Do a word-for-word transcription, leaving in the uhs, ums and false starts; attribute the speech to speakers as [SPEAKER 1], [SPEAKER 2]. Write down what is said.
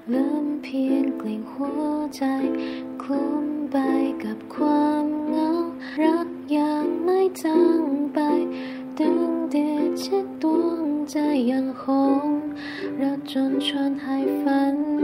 [SPEAKER 1] เหลือเพียงกลิ่นหัวใจคลุ้มไปกับความเหงารักยังไม่จางไปดึงเดชชิดดวงใจยังคงรักจนชวนให้ฝัน